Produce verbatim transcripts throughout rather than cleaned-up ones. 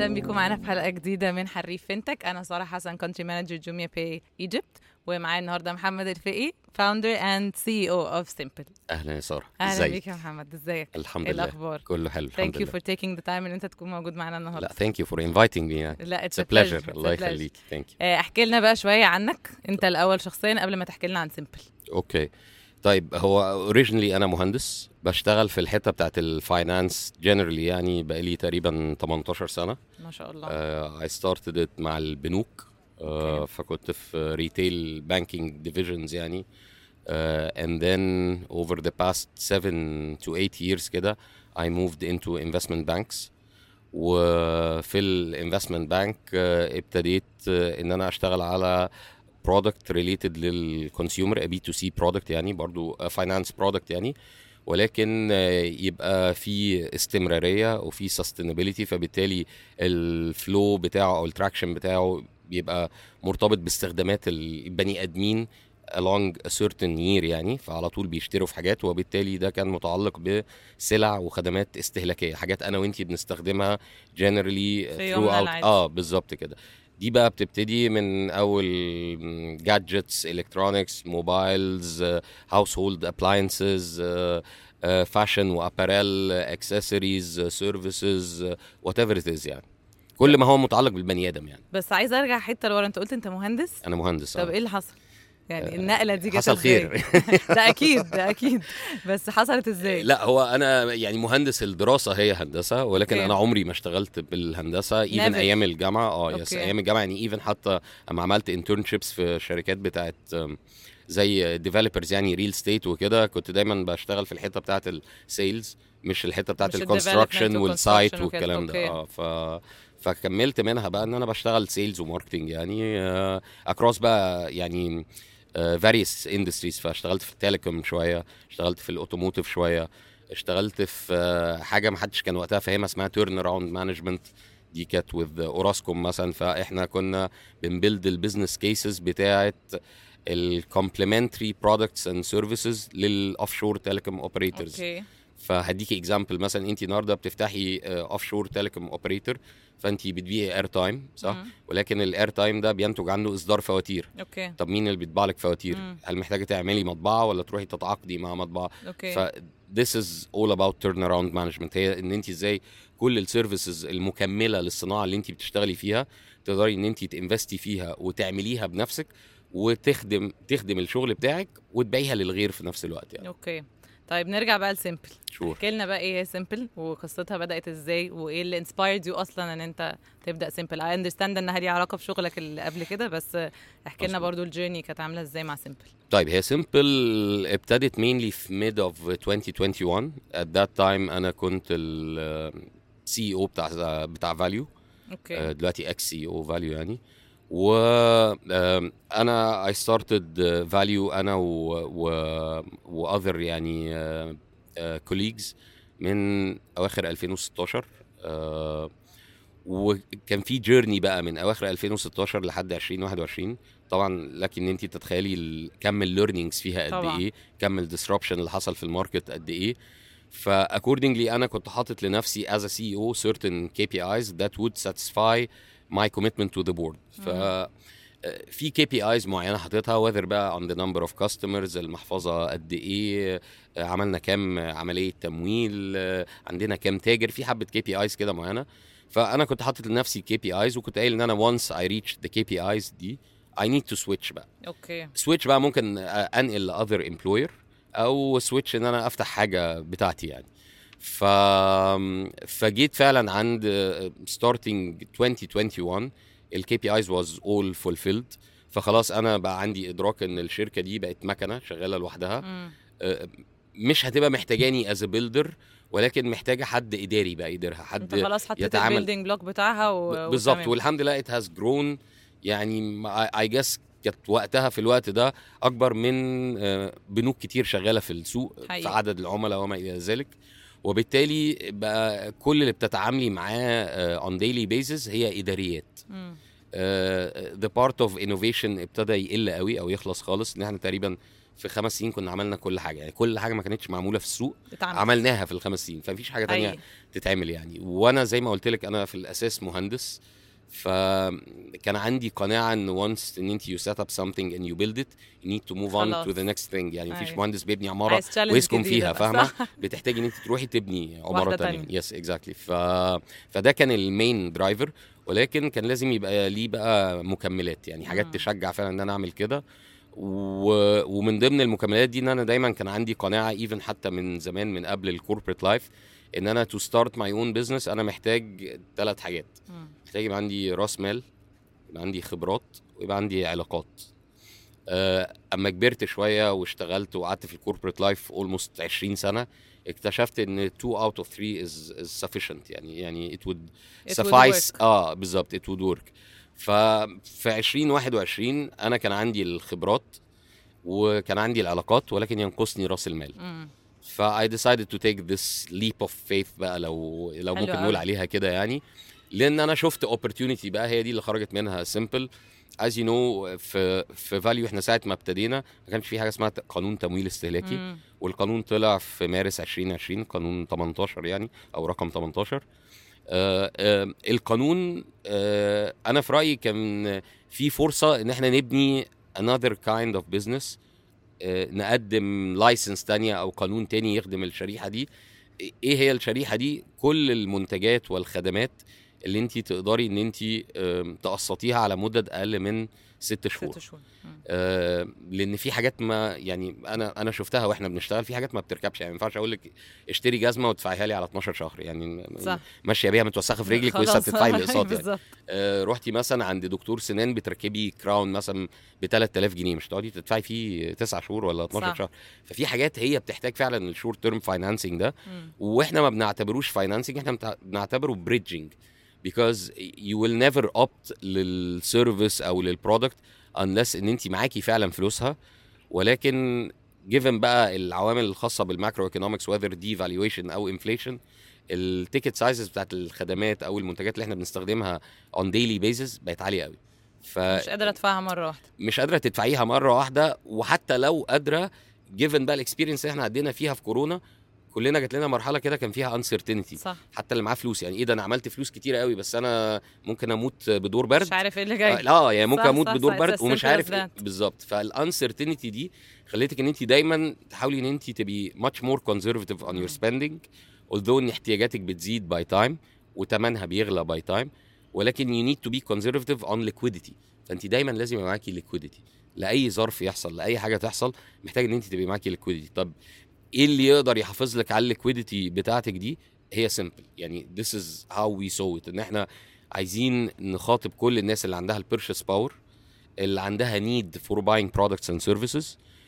اهلا بكم معانا في حلقه جديده من حريف فينتك. انا ساره حسن كونتري مانجر جوميا باي ايجيبت، ومعايا النهارده محمد الفقي فاوندر اند سي او اوف سيمبل. اهلا يا ساره، اهلا بيك يا محمد، ازيك؟ الحمد إيه لله، الاخبار؟ كله حلو الحمد لله. Thank you for taking the time ان انت تكون موجود معانا النهارده. لا thank you for inviting me. لا it's a pleasure. الله يخليك. thank you. احكي لنا بقى شويه عنك انت الاول شخصيا قبل ما تحكي لنا عن سيمبل. اوكي طيب، هو originally انا مهندس بشتغل في الحته بتاعت الفاينانس جنرالي، يعني بقالي تقريبا تمنتاشر سنه ما شاء الله. uh, I started it مع البنوك. uh, okay. فكنت في ريتيل بانكينج divisions يعني. uh, and then over the past seven to eight years كده I moved into investment banks. وفي الانفستمنت بانك ابتديت ان انا اشتغل على برودكت ريليتد للكونسيومر، بي تو سي برودكت يعني، برضو فاينانس برودكت يعني، ولكن يبقى في استمراريه وفي سستينابيليتي، فبالتالي الفلو بتاعه او التراكشن بتاعه بيبقى مرتبط باستخدامات البني ادمين along a certain year يعني، فعلى طول بيشتروا في حاجات، وبالتالي ده كان متعلق بسلع وخدمات استهلاكيه، حاجات انا وانتي بنستخدمها generally throughout. اه بالظبط كده. دي بقى بتبتدي من اول جادجتس، الكترونكس، موبايلز، هاوس هولد ابلاينسز، فاشن واباريل، اكسسوارز، سيرفيسز، وات ايفر ات از يعني، كل ما هو متعلق بالبني ادم يعني. بس عايز ارجع حته لورا، انت قلت انت مهندس. انا مهندس. طب ايه اللي حصل يعني؟ النقله دي جت حصل خير. ده اكيد ده اكيد بس حصلت ازاي؟ لا هو انا يعني مهندس، الدراسه هي هندسه، ولكن okay. انا عمري ما اشتغلت بالهندسه ايفن ايام الجامعه. اه يس okay. ايام الجامعه يعني، ايفن حتى اما عملت انترنشيبس في شركات بتاعت زي ديفلوبرز يعني ريل ستيت وكده، كنت دايما بشتغل في الحته بتاعت السيلز، مش الحته بتاعت الكونستراكشن والسايت والكلام ده. اه ف فكملت منها بقى ان انا بشتغل سيلز وماركتنج يعني اكروس بقى يعني various industries. فاشتغلت في التليكوم شويه، اشتغلت في الاوتوموتيف شويه، اشتغلت في حاجه ما حدش كان وقتها فاهمها اسمها تيرن اراوند مانجمنت، دي كانت with اوراسكوم مثلا. فاحنا كنا بنبيلد البيزنس كيسز بتاعه الكومبلمنتري برودكتس اند سيرفيسز للاوفشور تيليكوم اوبريتورز. فهديكي اكزامبل، مثلا انت النهارده بتفتحي اوفشور تيليكوم اوبريتور، فانت بتبيعي اير تايم صح؟ مم. ولكن الاير تايم ده بينتج عنه اصدار فواتير. اوكي. طب مين اللي بيطبع لك فواتير؟ مم. هل محتاجه تعملي مطبعه ولا تروحي تتعاقدي مع مطبعه؟ اوكي. ف this is all about turnaround management. هي ان انت ازاي كل السيرفيسز المكمله للصناعه اللي انت بتشتغلي فيها تقدري ان انت تنفستي فيها وتعمليها بنفسك، وتخدم تخدم الشغل بتاعك وتبيعها للغير في نفس الوقت يعني. اوكي طيب نرجع بقى لسيمبل. شور. احكي لنا بقى ايه هي سيمبل وقصتها بدأت ازاي، وايه اللي انسبايرد يو اصلا ان انت تبدأ سيمبل. اي اندرستاند انها ليها علاقه بشغلك اللي قبل كده، بس احكي لنا برضو الجيرني كانت عامله ازاي مع سيمبل. طيب هي سيمبل ابتدت mainly في mid of twenty twenty-one. at that time انا كنت ال سي او بتاع بتاع فاليو. اوكي. دلوقتي اكس سي او فاليو يعني. و انا I started value انا و و other يعني colleagues من اواخر ألفين وستاشر. وكان في جيرني بقى من اواخر ألفين وستاشر لحد عشرين واحد وعشرين. طبعا لكن انت تتخيلي كم الليرنينجز فيها قد ايه، كم الديسربشن اللي حصل في الماركت قد ايه. فاكوردنجلي انا كنت حاطط لنفسي as a سي او certain كي بي ايز that would satisfy my commitment to the board. ف في كي بي ايز معينه حاططها whether بقى on the number of customers، المحفظه قد ايه، عملنا كام عمليه تمويل، عندنا كام تاجر، في حبه كي بي ايز كده معينه. فانا كنت حاطط لنفسي كي بي ايز، وكنت قايل ان انا once I reach the كي بي ايز دي I need to switch بقى. اوكي. switch بقى ممكن انقل ل other employer، او switch ان انا افتح حاجه بتاعتي يعني. ف فجيت فعلا عند starting twenty twenty-one الكي بي ايز was all fulfilled. فخلاص انا بقى عندي ادراك ان الشركه دي بقت مكنه شغاله لوحدها. م. مش هتبقى محتاجاني as a builder، ولكن محتاجه حد اداري بقى يديرها، حد انت خلاص حطيت البيلدينج بلوك بتاعها و... بالظبط. والحمد لله it has grown يعني. I guess كانت وقتها في الوقت ده اكبر من بنوك كتير شغاله في السوق حقيقي. في عدد العملاء وما الى ذلك. وبالتالي بقى كل اللي بتتعاملي معاه on daily basis هي اداريات. م. uh, the part of innovation ابتدى يقل قوي او يخلص خالص، ان احنا تقريبا في خمس سنين كنا عملنا كل حاجه، يعني كل حاجه ما كانتش معموله في السوق اتعمل. عملناها في الخمس سنين، فمفيش حاجه تانية أي. تتعمل يعني. وانا زي ما قلت لك انا في الاساس مهندس، فكان عندي قناعه ان once ان انت you set up something and you build it you need to move on خلاص. to the next thing. يعني مفيش أي. مهندس بيبني عماره عايز challenge ويسكن جديدة فيها، بقى، فاهمه؟ صح؟ بتحتاجي ان انت تروحي تبني عماره واحدة تانية. تانية. يس اكزاكتلي. ف فده كان المين درايفر، ولكن كان لازم يبقى ليه بقى مكملات، يعني حاجات مم. تشجع فعلا ان انا اعمل كده. و... ومن ضمن المكملات دي ان انا دايما كان عندي قناعه ايفن حتى من زمان من قبل الكوربريت لايف ان انا تو ستارت ماي اون بزنس انا محتاج ثلاث حاجات. مم. محتاج يبقى عندي راس مال، يبقى عندي خبرات، ويبقى عندي علاقات. آه، اما كبرت شويه واشتغلت وقعدت في الكوربريت لايف اولموست عشرين سنه، اكتشفت ان two out of three is, is sufficient. يعني يعني it would It would suffice. work. اه بالظبط it would work. ففي عشرين واحد وعشرين انا كان عندي الخبرات وكان عندي العلاقات، ولكن ينقصني راس المال. مم. ف I decided to take this leap of faith بقى، لو لو حلو ممكن أوي. نقول عليها كده يعني. لان انا شفت opportunity بقى، هي دي اللي خرجت منها simple. as you know في في فاليو احنا ساعه ما ابتدينا ما كانش في حاجه اسمها قانون تمويل استهلاكي. مم. والقانون طلع في مارس عشرين عشرين، قانون تمنتاشر يعني او رقم تمنتاشر. آه آه القانون آه انا في رايي كان في فرصه ان احنا نبني another kind of business، آه نقدم لايسنس تانية او قانون تاني يخدم الشريحه دي. ايه هي الشريحه دي؟ كل المنتجات والخدمات اللي انت تقدري ان انت تقسطيها على مدد اقل من ست شهور. ست شهور. مم. آه لان في حاجات ما يعني انا انا شفتها واحنا بنشتغل، في حاجات ما بتركبش. يعني ما ينفعش اقول لك اشتري جزمه وتدفعيها لي على اتناشر شهر، يعني صح. ماشيه بيها متوسخه في رجلك ولسه خلاص. بتدفعي الاقساط يعني. بالظبط. آه رحتي مثلا عند دكتور سنان بتركبي كراون مثلا ب ثلاثة آلاف جنيه، مش تقعدي تدفعي فيه تسعة شهور ولا اتناشر صح. شهر. ففي حاجات هي بتحتاج فعلا الشورت تيرم فاينانسنج ده، مم. واحنا ما بنعتبروش فاينانسنج، احنا بتع- بنعتبره بريدجنج. because you will never opt للسيرفيس او للبرودكت unless ان انت معاكي فعلا فلوسها. ولكن given بقى العوامل الخاصه بالماكرو ايكونومكس whether دي valuation او انفليشن، التيكت سايزز بتاعت الخدمات او المنتجات اللي احنا بنستخدمها on daily basis بقت عاليه قوي. مش قادرة ادفعها مرة واحدة. فمش قادره تدفعيها مره واحده. وحتى لو قادره given بقى الاكسبيرينس اللي احنا عدينا فيها في كورونا، كلنا جات لنا مرحله كده كان فيها uncertainty. صح. حتى اللي معاه فلوس يعني ايه ده، انا عملت فلوس كتيره قوي بس انا ممكن اموت بدور برد، مش عارف ايه اللي آه جاي. لا يعني ممكن صح، اموت صح، بدور صح. برد It's as ومش simple عارف as إيه. that. بالظبط. فالانسرتينتي دي خليتك ان انت دايما تحاولي ان انت تبقي much more conservative on your spending although ان احتياجاتك بتزيد by time وتمنها بيغلى by time، ولكن you need to be conservative on liquidity. فانت دايما لازم يبقى معاكي liquidity لاي ظرف يحصل، لاي حاجه تحصل محتاج ان انت تبقي معاكي liquidity. طب ايه اللي يقدر يحافظ لك على الليكويديتي بتاعتك دي؟ هي سيمبل يعني this is how we saw it، ان احنا عايزين نخاطب كل الناس اللي عندها البيرشيس باور، اللي عندها need for buying products and services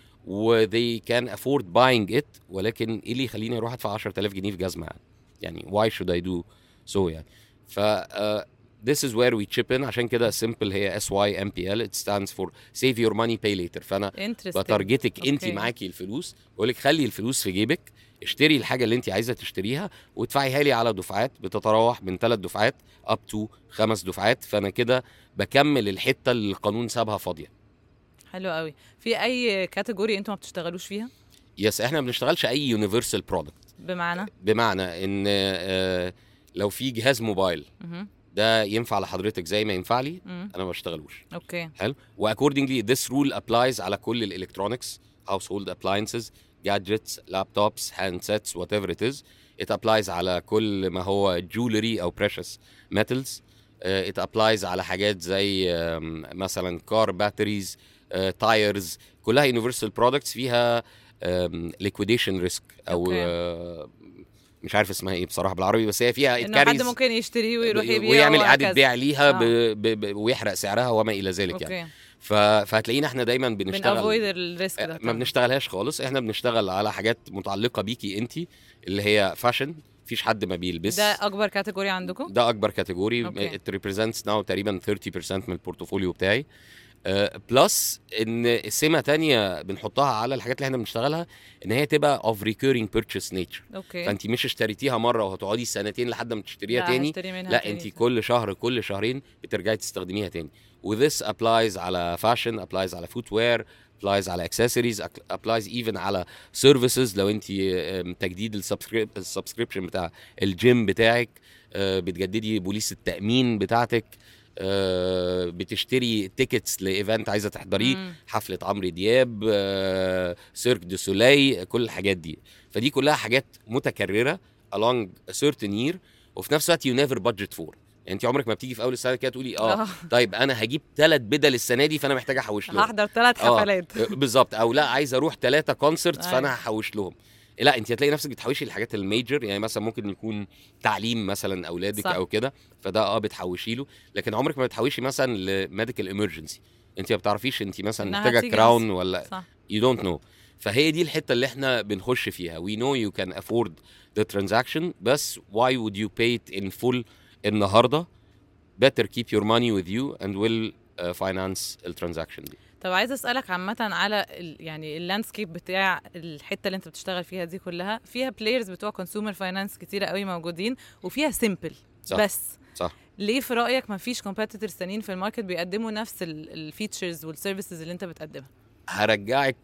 و they can afford buying it. ولكن ايه اللي يخليني اروح ادفع عشرة آلاف جنيه في جزمه يعني؟ يعني why should I do so يعني. ف uh, this is where we chip in. عشان كده simple هي اس واي ام بي ال it stands for save your money pay later. فانا Interesting. بتارجتك انت أوكي. معاكي الفلوس، بقول لك خلي الفلوس في جيبك، اشتري الحاجه اللي انت عايزه تشتريها وادفعيها لي على دفعات بتتراوح من ثلاث دفعات up to خمس دفعات. فانا كده بكمل الحته اللي القانون سابها فاضيه. حلو قوي. في اي كاتيجوري انتوا ما بتشتغلوش فيها؟ يس احنا ما بنشتغلش اي يونيفرسال برودكت. بمعنى بمعنى ان آه، لو في جهاز موبايل مهم. ده ينفع لحضرتك زي ما ينفع لي، مم. انا ما بشتغلوش. اوكي. حلو. واكوردنجلي this rule applies على كل الالكترونكس household appliances gadgets laptops handsets whatever it is. it applies على كل ما هو jewelry او precious metals. uh, it applies على حاجات زي um, مثلا car batteries uh, tires، كلها universal products فيها um, liquidation risk او uh, مش عارف اسمها ايه بصراحه بالعربي، بس هي فيها انه حد carries ممكن يشتريه ويروح ب- يبيعه ويعمل اعاده وهكذا. بيع ليها ب... آه. ب... ب... ويحرق سعرها وما الى ذلك يعني. اوكي. ف... فهتلاقينا احنا دايما بن بنشتغل افويد الريسك ده. ما طبعاً. بنشتغلهاش خالص. احنا بنشتغل على حاجات متعلقه بيكي انت، اللي هي فاشن. مفيش حد ما بيلبس. ده اكبر كاتيجوري عندكم؟ ده اكبر كاتيجوري. أوكي. it represents now تقريبا ثلاثين بالمية من البورتفوليو بتاعي. بلس uh, ان سمه تانية بنحطها على الحاجات اللي احنا بنشتغلها ان هي تبقى of recurring purchase nature. اوكي. فانت مش اشتريتيها مره وهتقعدي سنتين لحد ما تشتريها لا، تاني، هشتري منها لا تاني. انت كل شهر كل شهرين بترجعي تستخدميها تاني. وذس applies على fashion applies على footwear applies على accessories, applies even على services. لو انت تجديد السبسكريبشن بتاع الجيم بتاعك، بتجددي بوليس التأمين بتاعتك، بتشتري تيكتس لايفنت عايزه تحضريه، حفله عمرو دياب، سيرك دو سولي، كل الحاجات دي. فدي كلها حاجات متكرره along a certain year، وفي نفس الوقت you never budget for. يعني انت عمرك ما بتيجي في اول السنه كده تقولي اه طيب انا هجيب ثلاث بدل السنه دي فانا محتاجه احوش لهم، هحضر ثلاث حفلات بالظبط، او لا عايز اروح ثلاثه كونسرتس فانا هحوش لهم. لا، انت هتلاقي نفسك بتحوشي الحاجات الميجر، يعني مثلا ممكن يكون تعليم مثلا اولادك صح. او كده، فده اه بتحوشي له، لكن عمرك ما بتحوشي مثلا لميديكال ايمرجنسي، انت ما بتعرفيش انت مثلا محتاجه كراون ولا يو دونت نو. فهي دي الحته اللي احنا بنخش فيها. we know you can afford the transaction، بس why would you pay it in full النهارده؟ better keep your money with you and will uh, finance الترانزاكشن دي. طب عايز اسالك عامه على ال يعني اللاندسكيب بتاع الحته اللي انت بتشتغل فيها دي كلها، فيها بلايرز بتوع كونسيومر فاينانس كتيره قوي موجودين، وفيها سيمبل بس صح. ليه في رايك ما فيش كومبيتيتورز ثانيين في الماركت بيقدموا نفس الفيتشرز والسيرفيسز اللي انت بتقدمها؟ هرجعك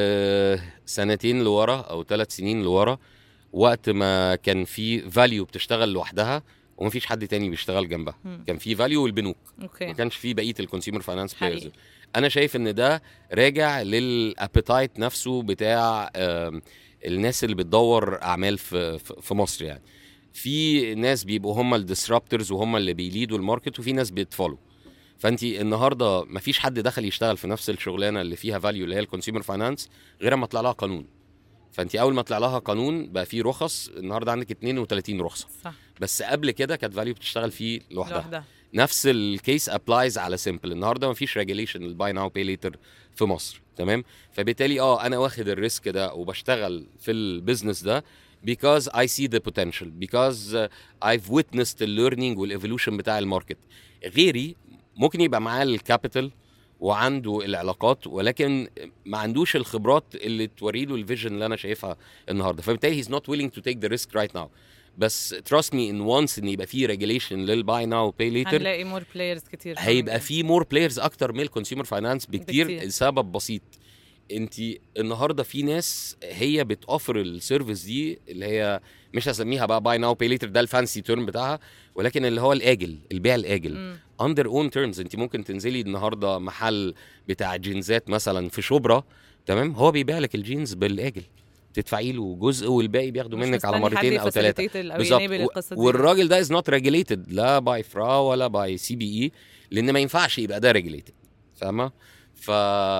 سنتين لورا او ثلاث سنين لورا، وقت ما كان في فاليو بتشتغل لوحدها ومفيش حد تاني بيشتغل جنبها. م. كان في فاليو والبنوك، أوكي. ما كانش في بقيه الكونسيومر فاينانس بلايرز. انا شايف ان ده راجع للابيتايت نفسه بتاع الناس اللي بتدور اعمال في في مصر. يعني في ناس بيبقوا هم الديسرابترز وهم اللي بيليدوا الماركت، وفي ناس بيتفولو. فانت النهارده مفيش حد دخل يشتغل في نفس الشغلانه اللي فيها فاليو اللي هي الكونسيومر فاينانس غير ما طلع لها قانون. فانت اول ما طلع لها قانون بقى فيه رخص، النهارده عندك اثنين وثلاثين رخصه صح. بس قبل كده كانت فاليو بتشتغل فيه لوحدها, لوحدها. نفس الكيس ابلايز على سيمبل. النهارده مفيش ريجوليشن الباي ناو باي ليتر في مصر، تمام؟ فبالتالي اه انا واخد الريسك ده وبشتغل في البيزنس ده because I see the potential, because uh, I've witnessed the learning والايفولوشن بتاع الماركت. غيري ممكن يبقى معاه الكابيتال وعنده العلاقات، ولكن ما عندوش الخبرات اللي توري له الفيجن اللي انا شايفها النهارده. فبالتالي he's not willing to take the risk right now. بس trust me in once ان يبقى فيه regulation للباي ناو باي ليتر هنلاقي more players كتير، هيبقى فيه more players اكتر من الكونسيومر فاينانس بكتير, بكتير. لسبب بسيط، انت النهارده في ناس هي بتوفر السيرفيس دي اللي هي مش هسميها بقى باي ناو باي ليتر، ده الفانسي تيرم بتاعها، ولكن اللي هو الاجل، البيع الاجل اندر اون تيرمز. انت ممكن تنزلي النهارده محل بتاع جينزات مثلا في شبرا، تمام؟ هو بيبيع لك الجينز بالاجل، تدفعي له جزء والباقي بياخده منك على مرتين او ثلاثه بالظبط. والراجل ده از نوت ريجوليتد لا باي فرا ولا باي سي بي اي، لان ما ينفعش يبقى ده ريجوليتد، فاهمه؟ ف...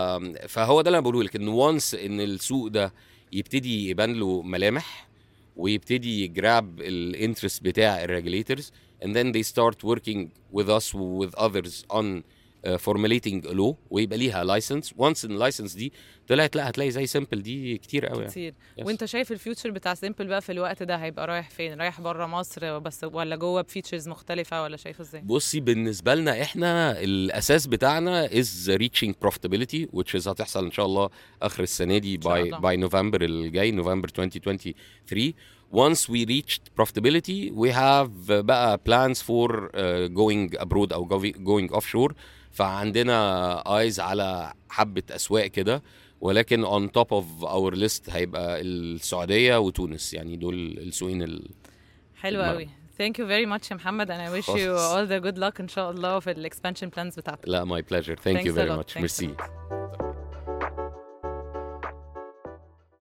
فهو ده اللي انا بقوله لك، ان وانس ان السوق ده يبتدي يبان له ملامح ويبتدي يجراب الانترست بتاع الريجوليتورز and then they start working with us with others on uh, formulating a law ويبقى ليها لايسنس. once اللايسنس دي طلعت لا هتلاقي زي سيمبل دي كتير قوي كتير يعني. وانت شايف الفيوتشر بتاع سيمبل بقى في الوقت ده هيبقى رايح فين؟ رايح بره مصر بس ولا جوه بفيتشرز مختلفه، ولا شايفه ازاي؟ بصي بالنسبه لنا احنا الاساس بتاعنا is reaching profitability which is هتحصل ان شاء الله اخر السنه دي by by نوفمبر الجاي، نوفمبر twenty twenty-three. once we reached profitability we have بقى plans for uh, going abroad او going offshore. فعندنا eyes على حبة أسواق كده، ولكن on top of our list هيبقى السعودية وتونس، يعني دول السوقين ال حلو قوي. Thank you very much يا محمد and I wish you all the good luck إن شاء الله في ال expansion plans بتاعتك. لا my pleasure. Thank Thanks you very much. Merci.